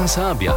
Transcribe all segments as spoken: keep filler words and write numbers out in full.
Sabia.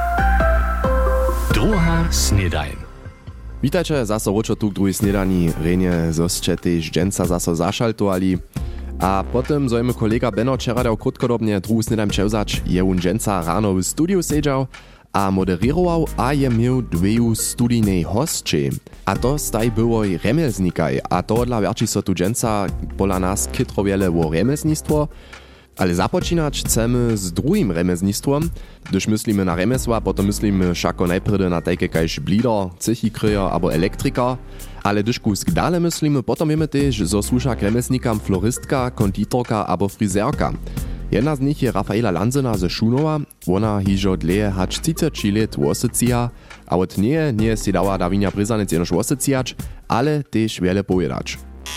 Druga snedajn. Witajcie, zaso ročo tu k druhej snedani. Renje zosće tež dženca zaso zašaltovali. A potem zojmy kolega Benno včera dał krótkodobnie druhu snedajn převzač. Je un dženca rano w studiu sedžał a moderował, a je miał dweju studijnej hostče. A to staj byłoj remelznikaj. A to dla wierči so tu dženca pola nas kytro wiele wo remelznictwo. Ale započinać chcemy z drugim remeznistwom. Gdyż myslimy na remesła, potom myslimy šako najpredy na takie kajś blider, cychikryjer abo elektriker. Ale gdyż kusk dale myslimy, potom wiemy też, zo służa remesnikam floristka, konditorka abo frizerka. Jedna z nich je Rafaela Lanzyna ze Szunowa. Ona hižo dleje hacz trzydzieści lat wosycija, a od nie nie si dała Dawinia Bryzanec jenoż wosycijać, ale też wiele pojedać.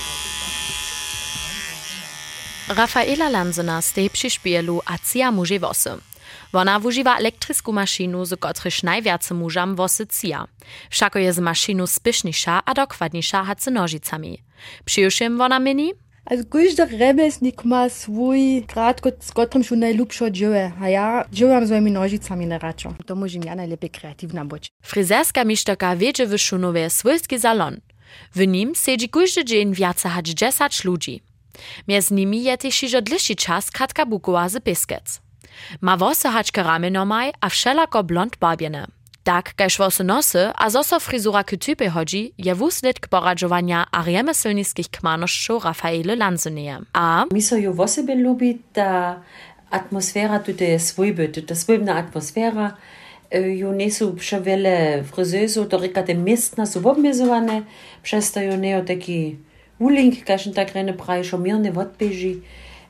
Rafaela Lanzyna stej przy szpielu a cija muži wosy. Ona wużywa elektrysku maszinu, z kotryż najwiacy mużam wosy cija. Wszako je z maszinu spiesznisza a dokładnisza hacy nożicami. Przyjuszym ona mini? Also każdy remesnik ma swój grad, z którym się najlepsze dzieje. A ja działam swoimi nożicami na raczo. To może ja najlepiej kreatywna być. Fryzerska misztoka wiedzie w Szunowie swojski salon. W nim siedzi każdy dzień więcej hać dziesięć ludzi. Między nimi je też iżo dłuższy czas Katka Bukowa z Piskec. Ma wosy haczkę ramienomaj, a wszelako blond barbiene. Tak, kaž wosy nosy, a zoso frizura k typy chodzi, je wusledk poradzowania a remeselnickich kmanoszczów Rafaele Lanzyneje. A mi so ju wosebie lubi, ta atmosfera tutaj jest swójby, ta swójbna atmosfera. Ju nie są przewiele fryzerów, to reka te miestna są obmiezowane, przez to ju nie taki uling, kaž tak rene praje šomirne odbeži.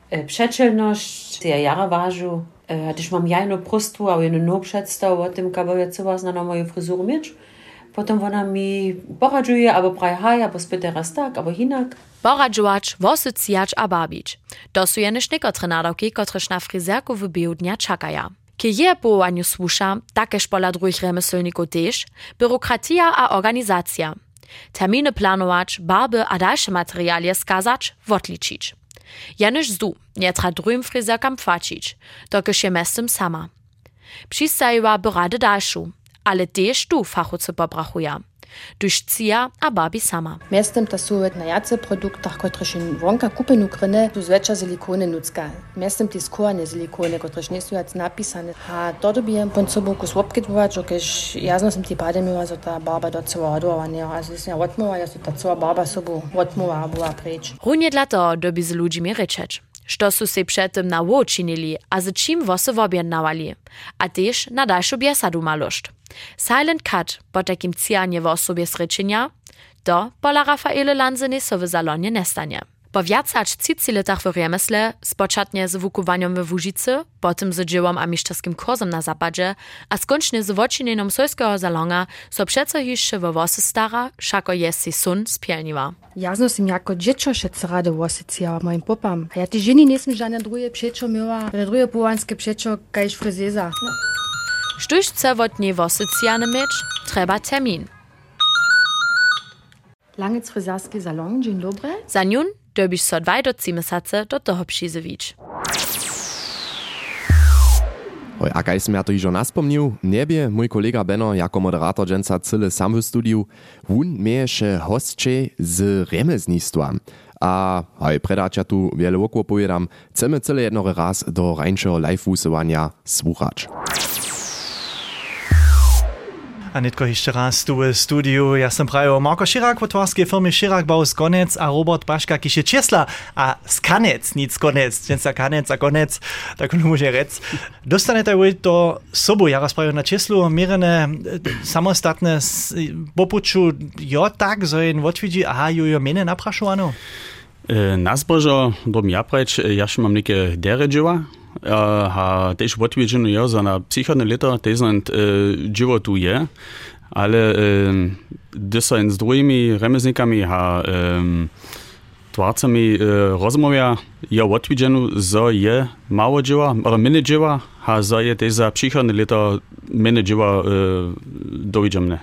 Przeczelność, ja jara ważu. Gdyż mam jajno prostwu, a jedno no przedstaw o tym, kabo ja co was na moją fryzurę mieć. Potem ona mi poradzuje, albo praje haj, albo spyta raz tak, albo hinak. Poradzować, wosycijać a babić. To są jeniż niekotre nadawki, kotreż na fryzerku w biu dnia czakaja. Kie je połowaniu słusza, takeż pola drugich remeselników też, biurokratia a organizacja. Terminy planować, barby a dalsze materialie skazać, odliczyć. Janyż zdu, nie tra drugim fryzerkam płacić, dokiż je mestem sama. Przystajiła by rady dalszą, ale też tu fachowcy pobrachuja. Duż cija a barbi sama. Mestem to są na jace produktach, które się wonka kupenu kryne, tu zwecza silikony nucka. Mestem te skórne silikony, które nie są jak napisane. A to dobijem pod sobą kus łopkytwować, dokiż jasno sam te pady miała, że ta barba do cała ładowania. A jest ja odmowa, ja ta cała barba sobą odmowa była precz. Runie dla to dobi z ludźmi ryczeć. Što su se przedtem na ło činili, a z čim wosy wobjednawali. A też na dalszą biesadu maloszt. Silent cut po takim cijanie w osobie srečenja, to pola Rafaele Lanzyny so w salonie nestanie. Po wiacać trzydziestu latach w remesle, spoczatnie z wukowaniem w Łużycy, potem z dziełom a miszczerskim kursem na zapadzie, a skończnie z wočinenom swojskiego salona, so przeco jeszcze w wosy stara, szako jest si sun spielniła. Jasno sam jako dziecko szedł rady wosycijała moim popam. A ja ty żeni nie sam żadne drugie przeczo miała, drugie połanskie przeczo kajś fryzeza. Štuž chce od nej wosycijane mieć, trzeba termin. Langec fryzerski salon, dzień dobry. Za njun dobiš so dvaj do trzy mesace do toho přizevič. Oj, a kaj som ja to ižo naspomnił, niebie mój kolega Benno jako moderator dženca cyle sam w studiu, wun mieješe hostče z remeznistwa. A hoj, predač ja tu wiele wokło pojedam, chcemy cyle jednore raz do rańszego live-wusowania słuchać. A netko jeszcze raz tu w studiu. Ja sam prajo Marko Širak, w twarskiej firmy Širak Baus Konec, a Robert Baška, kiś je Czesla, a Skanec, nic Konec, dženca Kanec a Konec, tak on może rec. Dostanete vy to sobu, ja raz prajo na Czeslu, mirene samostatne popuču, jo tak, zo jen odvidzi, aha, ju jo mene naprašovano? Nazbožo, dom ja preč, ja še mam neke dere dživa, ha też odwiedziny ja za na psychodne lata też sind dziwo tu je, ale gdy są z drugimi remesnikami ha twarcami rozmawia, ja odwiedziny za je mało dzieła, ale mine dzieła, ha za je też za psychodne lata mine dzieła dowidzimy.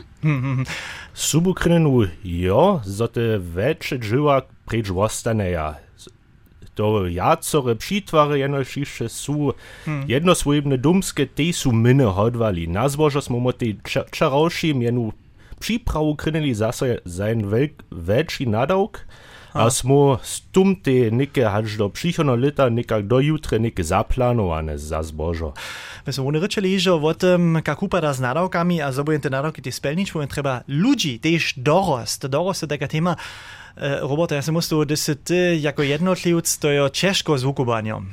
Subukrynu jo, za te wecze dzieła precz wostaneja. to jacore přitwary jenož jeszcze su hmm. jednoswojebne dumskie, te su mine hodwali. Na zbożo smo mo te čarawšim jenu připrawu krynili zase zain velký nadawk, a smo stum te nike hač do přichodno lita nikak do jutre nike zaplanowane za zbożo. My smo oni rečeli, že o tym, jak upada z nadawkami a zobujem te nadawki te spelnič, bo treba ludzi tež dorost. Dorost je taka tema. Robert, ja sam musím, že si ty jako jednotlivc, to je ciężko z wukowaniem.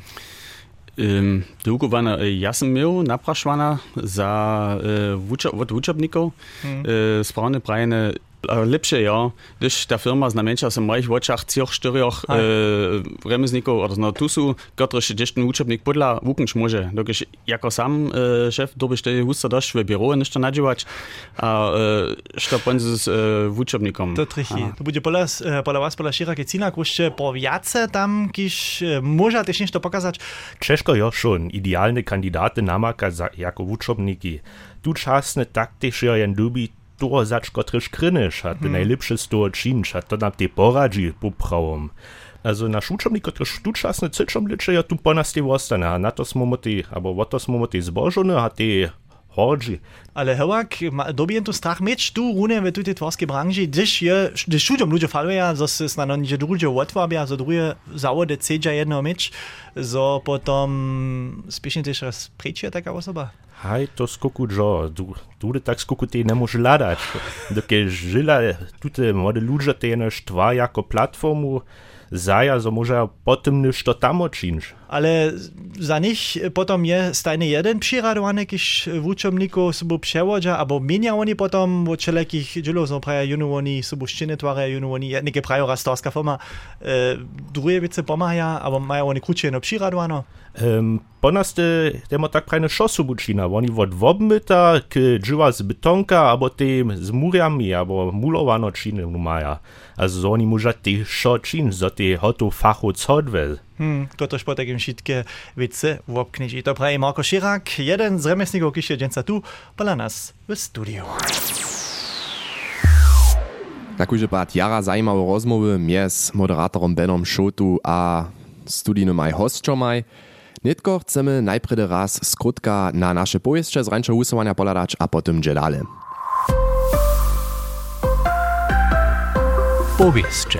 Um, Wukowana, ja sam miał napraszwana za uh, od wuczebników hmm. uh, sprawne prajne lepsze, ja, gdyż ta firma znamieńcza w moich oczach trzech, czterech e, remesników, oder no tu są, którzy się gdzieś ten uczebnik podla wuknąć może. Dokąd jako sam e, szef dobyś te husta dość w biuro jeszcze nadziewać, a sztopon z e, uczebnikom. To trichy. To będzie pola, pola was, pola širokie cína, kruście po wiace tam, kiż może też niż to pokazać. Ciężko jo schon idealne kandidaty namaka za, jako uczebniki. Tu czasne tak też jen dubi to zač, kotryż krynysz, a te hmm. najlepsze z toho činč, a to nam te poradzi popravom. Also naš učebnik, kotryż tu časne cečom liče, ja tu po nas te ostane, a na to smo mo te, abo o to smo mo te zbožone, a te hodži. Ale hewak, dobijem tu strach mieć tu rune w tej tworskiej branży, gdyż je, gdyż studium ludzie falują, że się na nie drugie łatwabia, że drugie zawody cedzia jedno mieć, że potom spiesznie też raz prejdzie taka osoba. Hej, to skoku dżo, du, du tak skoku te ne może ladać. Dokie żyla, tute młode ludzie te jenoż twa jako platformu zaja, że może potem niż to tam odczynsz. Ale za nich potom je stajny jeden přiradowany, kiż wuczomników sobie przewodza, albo mienia oni potom od wszelakich dzielów, so praja junu oni sobie szczyny twaraja, junu oni, jednike prajo rastorska firma, e, drugie wiece pomaja, albo mają oni krucie no přiradowano. Um, po nas te, temo tak prajne szosu bučina, oni od wobmyta k dżywa z betonka, albo te z murami, albo mulowano činy maja. Also oni może te szo čin, so te hoto fachu codwel. Hmm, to też po takim šitke wice wobknić. I to praje Marko Širak, jeden z remesników, kiż je dżęca tu, pola nas w studiu. Takúže pat jara zajímavé rozmowy między moderatorem Benom Šotu a studijnym aj hostčomaj. Nitko chcemy najpredy raz skrótka na nasze pojeździe z rańszego usuwania poladać, a potem dżedale. Pojeździe.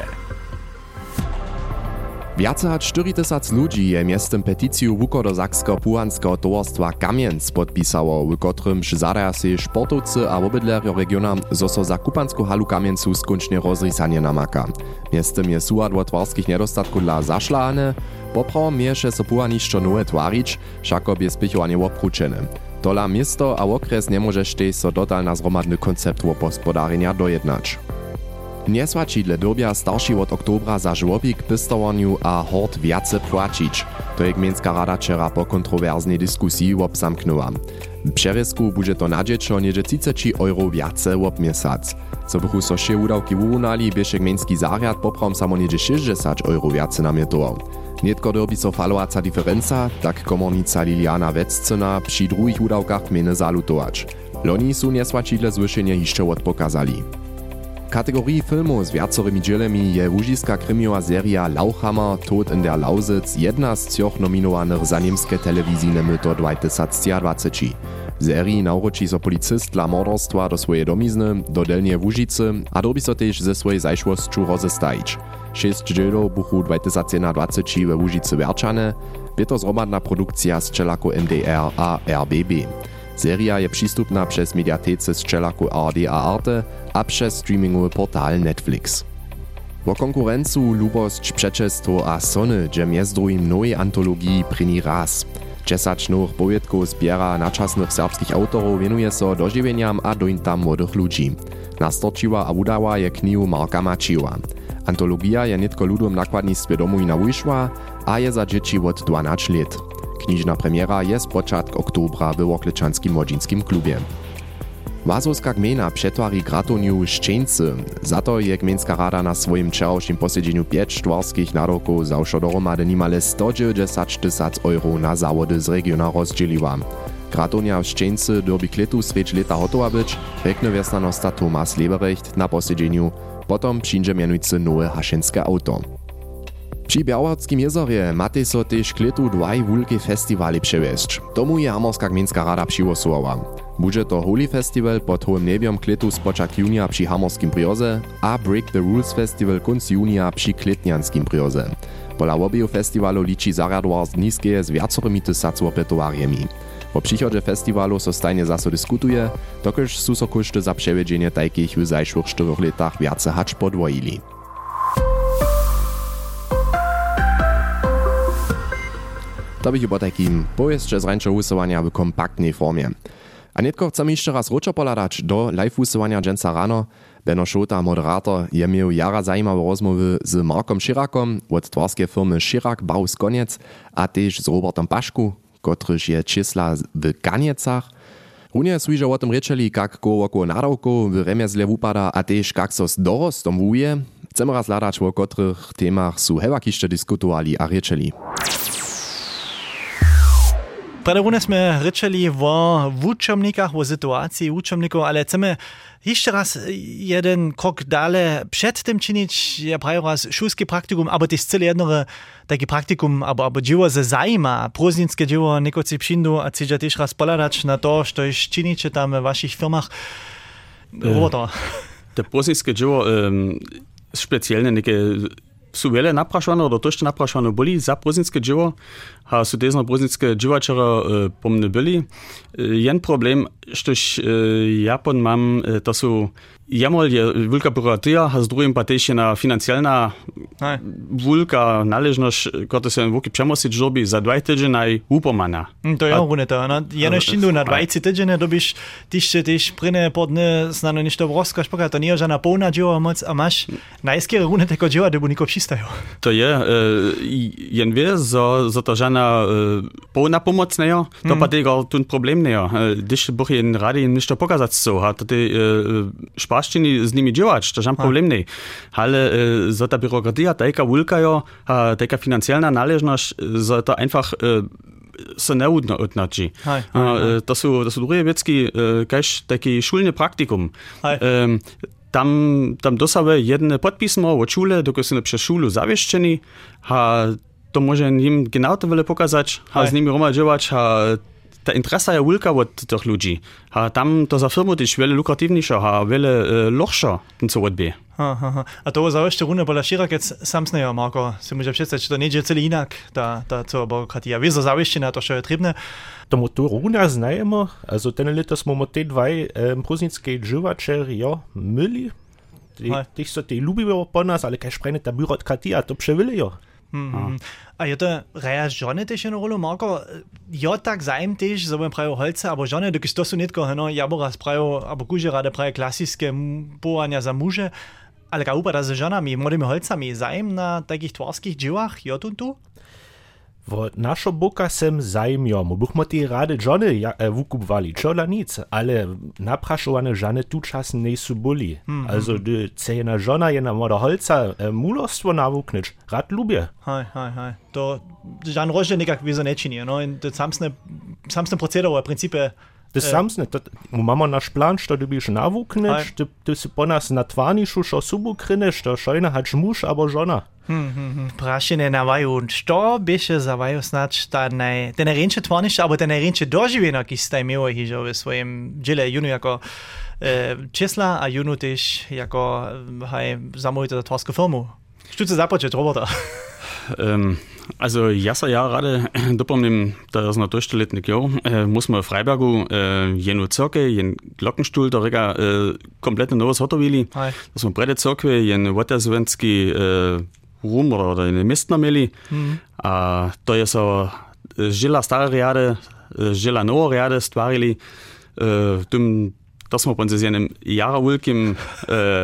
Viace hač štyri tysac ludzi je miestem peticiju Wukodo-Saksko-Puhanskiego towarstwa Kamienc podpisało, w kotrym żadaja się sportowcy a obydlerjo regiona, zo so za kupansku halu Kamieńcu skończnie rozrysanie namaka. Miestem je suad od twarskich nedostatków dla zašlane, poprawom mieše so Puhanišćo nowe twarić, všako bie spichowanie opručene. Tola miasto a okres nie może štej so dotal na zromadny koncept opospodarenia dojednać. Niesłačidle dobia starší od oktobra za żłobik, pistowaniu a hort viace płacić. To je gmieńska rada wczera po kontrowerznej dyskusji obsamknęła. W przerysku będzie to na dziecko niedzie trzydzieści euro viace obmiesać. Co bychu so się udawki urównali, bieže gmieński zariad poprawom samo niedzie sześćdziesiąt euro viace namjetował. Nietko derbi so falovaca diferenca, tak komornica Liliana Veccyna przy drugich udawkach gminy zalutować. Loni su niesłačidle zwyšenie jeszcze odpokazali. W kategorii filmów z wiacorymi dzielami je łužiska krymiowa seria Lauchhammer Tod in der Lausitz jedna z trzech nominowanych za niemskie telewizyjne myto dwa tysiące dwadzieścia. W serii nauroči so policist dla morderstwa do swojej domizny, do Delnie Łužicy, a dobi so też ze swojej zajszłostczu rozestajić. Sześć dzielów buchu dwa tysiące dwadzieścia we Łužicy Werčane, je to zromadna produkcja z czelaku M D R a R B B. Seria je przystupna przez mediatece z czelaku R D a Arte a przez streamingowy portal Netflix. O konkurencu lubosć, przeczestwo a sony, gdzie między drugim nowej antologii pryni raz. Dziesięć nowych powiedków zbiera naczasnych serbskich autorów wienuje so dożywieniam a dointam młodych ludzi. Nastorčiła a udała je knihu Marka Mačiwa. Antologia je nitko ludom nakładnictwie domowina wyszła, a je za dzieci od dwanaście lat. Knižna premiera je z początku oktobra w Oklechanskim Młodzińskim klubie. Wazowska gmina przetwari gratoniu Szczeńcy. Za to je gmieńska rada na swoim wczorajszym posiedzeniu pięć twarskich nadawków zawsze dohromady nimale sto dziewięćdziesiąt tysięcy euro na zawody z regiona rozdzieliła. Gratonia w Szczeńcy derby kletu swieć leta hotowa być, rekne wiesnanosta Tomas Leberecht na posiedzeniu, potom przyjdzie mianujcy nowe haszenskie auto. Przy Białortskim jezorje matej so też kletu dwaj wulke festiwale przewieźć. Tomu je Hamorska gminska rada přiwosovala. Bude to Holy Festival pod hołym nebiom kletu spočak junia przy Hamorskim brioze a Break the Rules Festival kunc junia przy Kletnianskim brioze. Pola obieju festiwalu liczy zarjadowar z niskie z wiacorymi tysacu-opetowarjemi. Po przychodzie festiwalu so stajnie zaso dyskutuje, dokelž su so koszty za przewiedzenie takich w zajszłych czterech latach wiace hacz podwojili. To bych po takim pojeździe z rańczego usuwania w kompaktnej formie. A netko chcemy jeszcze raz ruczo poladać do live usuwania dżęca rano. Benno Šota, moderator, je miał jara zajímawe rozmowy z Markom Širakom od twarskiej firmy Širak Baus Koniec, a też z Robertom Pašku, kotryż je čísla w Kaniecach. Runie słyże o tym rečeli, jak koło około nadawków w remezle wupada, a też jak so z dorostom wuje. Chcemy raz ladać, o kotrych temach su hewakište diskutowali a rečeli. Predawne sme rečeli o wučomnikach, o sytuacji wučomnikov, ale chcemy jeszcze raz jeden krok dalej przed tym czynić, ja prawie raz szulskie praktikum, aber też cele jednore takie praktikum, aber, aber dzieło ze zajma, proznickie dzieło, niekoci przyjdą, a chcecie też raz poladać na to, co już czynicie tam w waszych firmach. Roboto. Te proznickie dzieło um, specjalne, niekie su wiele naprašované, do tošte naprašované boli za proznickie dzieło, a su też na proznickie dziełaczera e, pomne byli. E, jen problem, štož e, ja pon mam, e, to su jamol je wulka byrokratia, a z drugim pa też na financialna wulka należność, kto się wuki przemosić robi za dwa tydzień upomana. To ja runę to, no jeno sztindu na dwadzieścia tydzień dobisz tyś tyś prynne podne znano niż to wroska szpoka, to nie żadna pełna dzieła moc, a masz najskiere runę tego dzieła, gdyby niko przystają. To je, e, jen wie, zo, zo to żadna e, pełna pomoc nie, to mm. pa tego ten problem nie. Gdyż buch jen rady niż to pokazać so, a to te e, z nimi działać, to żaden problem nie. Ale e, za ta byrokratia, taka wulka jo, a taka finansjalna należność, za to einfach e, se neudno odnaczy. To są to są drugie wiecki, e, kaž taki szulny praktikum. E, tam tam dosawe jedne podpismo od szule, dokąd są przez szulu zawieszczeni, a to może im genau to wiele pokazać, a z nimi roma działać, a ta interesa je wulka od tych ludzi. A tam to za firmu też wiele lukratywniejsze, a wiele e, lochsza, ten co odbie. A to za jeszcze runę pola Širak jetzt samsnejo, Marko, si może przedstawić, to nie dzieje celi inak, ta, ta co byrokratia. Wie za zawieszczena, to co je trebne. Tomu to runa znajemo, also ten leto smo mo te dvaj um, proznickie dziewaczeri, jo, myli. Tych so te lubiło po nas, ale kaj szprejne ta byrokratia, to przewili jo. Mm-hmm. A je to reja žony tež jednu rolu, Marko? Jo tak zajem tež, za budem prajo holce, abo žony, dokiž to su netko, no, ja bo raz prajo, abo kuže rade prajo klasické powania za muže, ale ka upada za žonami, młodymi holcami, zajem na takich twarských dziełach, jo tu tu? Wo naszo boka sem zajmiomu, buchmo te rade žony ja, e, wukupwali, čola nic, ale naprašowane žany tu čas nie su boli. Mm-hmm. Also, de cejena žona je na moda holca e, mulostwo nawuknyć, rad lubię. Hej, hej, hej. To žan rožde nekak wieso nečinie, no, in to samsne, samsne procedere, v principe. Das äh, samsne, to mamy nasz plan, što du biš nawuknyć, ty, ty si po nas natwarniszu, šo subu krynyš, to šojna hać muž abo žona. Hmm, hmm, hmm. Prašine na vaju, što biše za vaju snać ta naj, te najrjenče tvarnišće, abo te najrjenče doživljeno, ki ste imeli hižo v svojem džile, junu jako e, česla, a junu tež jako haj, zamujete za tvarsku firmu. Što se započet, Roberta? Um, also jasa ja rade dopomnim, da je na durchstelletnik jo, äh, muss man v Freibergu äh, jenu cirke, jen Glockenstuhl, da rega äh, kompletne novo hotovili. Da smo prede cirkve, jen votersvenski äh, rum oder eine mistna meli. Mm-hmm. A to je so žila stare riade, žila novo riade stvarili. Äh, tum, da smo po z jenem jara vulkim äh,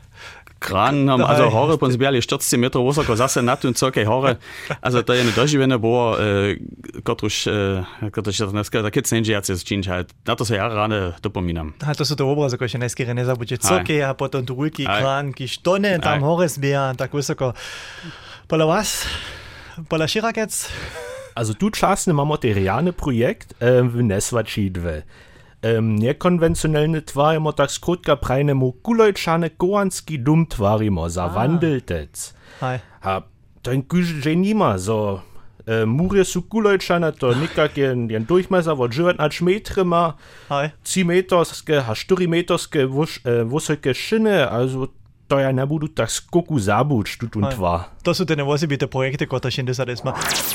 Kran haben, also Haare prinzipiell vierzig Meter wysoko, zase na tym co Haare. Also to je nedoživené było, kotruž, kotruž dneska taky cenžiaci zčinč, na to se ja ráne dopomínam. A to sú to obrazy, ako še najskýre nezabudže coke a potom druhý krán, kiž tone tam hore zbieha, tak wysoko. Pola vás, pola Širakec? Also tu časne mamy teriane projekt ähm, w Nesvačidve. Um, nekonvencionalne tvarimo tak skrótka prajnemu kulojčane koanski dum tvarimo, zawandeltec. Ah. A to je kuži nima, so äh, Mury su kulojčane, to nikak jen, jen Durchmesser od dziewiętnaście metry ma, trzy meterske, a cztery meterske wysokie szyny, also to ja ne budu tak skoku zabuć tu und twa. To su te nevozibite projekty, które się desadesma.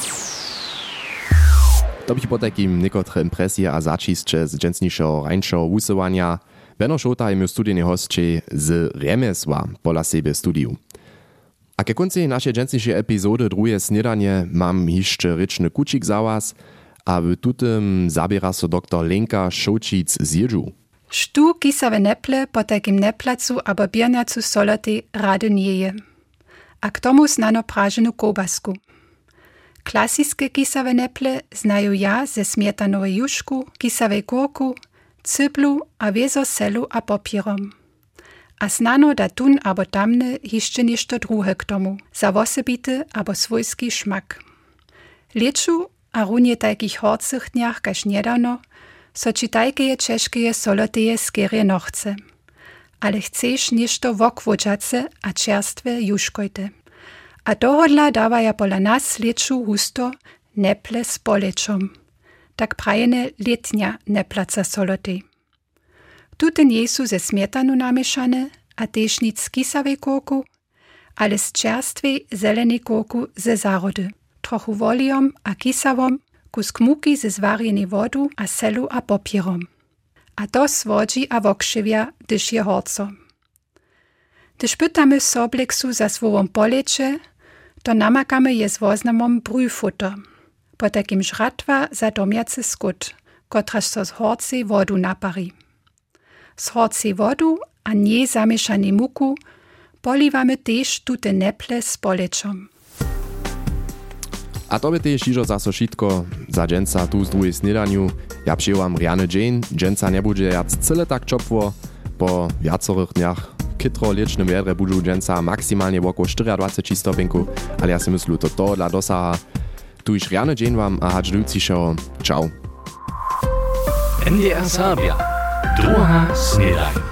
To bych po takim niekotre impresje a začisće z dženstnišeho rańšeho wusywania. Benno Šota je mil studijny hostče z Remesła pola sebe studiu. A ke konci naszej dženstnišej epizody druje snedanie mam jeszcze ryczny kucik za was, a w tutym zabiera so doktor Lenka Šočic z Jedžu. Štu kisawe neple po takim neplacu abo biernacu soloty rady nie je. A k tomu znano prażenu kobasku. Klasiskie kisawe neple znają ja ze smietanowej juszku, kisawej górku, cyblu a wiezo selu a popierom. A znano da tun abo tamne jeszcze ništo druhe k tomu, za wosebity abo swojski szmak. Leczu a runie takich horcych dniach kaž niedawno, so ci tajkeje czeszkeje soloteje skerje nochce. Ale chceš ništo wokwođace a čerstve juškojte. A dohodla dawaja pola nas leczu husto neple z polečom. Tak prajene letnia neplaca solotej. Tute nie su ze smietanu namieszane, a tež nic z kisawej kurku, ale z čerstwej zelenej kurku ze zarody. Trochu wolijom a kisawom, kus kmuki ze zwarjenej wodu a selu a popierom. A to swodzi a wokrzywia, dyż je horco. Dyż pytamy sobleksu za swowom polecze, to namakamy je z woznamom brüfutter. Po takim żratwa za domjacy skut, kotraż so z horcej wodu napari. Z horcej wodu a nie zamieszane muku poliwamy też tute neple z polečom. A to by też iżo zaso šitko za dženca tu z druhej snedaniu. Ja przyjęłam Rianne Jane, dženca nie bude jac cyle tak čopwo, po viacorych dniach kytro liečnym vedre budú dženca maksimálne okolo dwadzieścia stopinku, ale ja si myslu, to to dla dosaha. Tu iż Rianne Jane wam a hač dujúcišeho. Čau. N D R Sabia. Druga snedaj.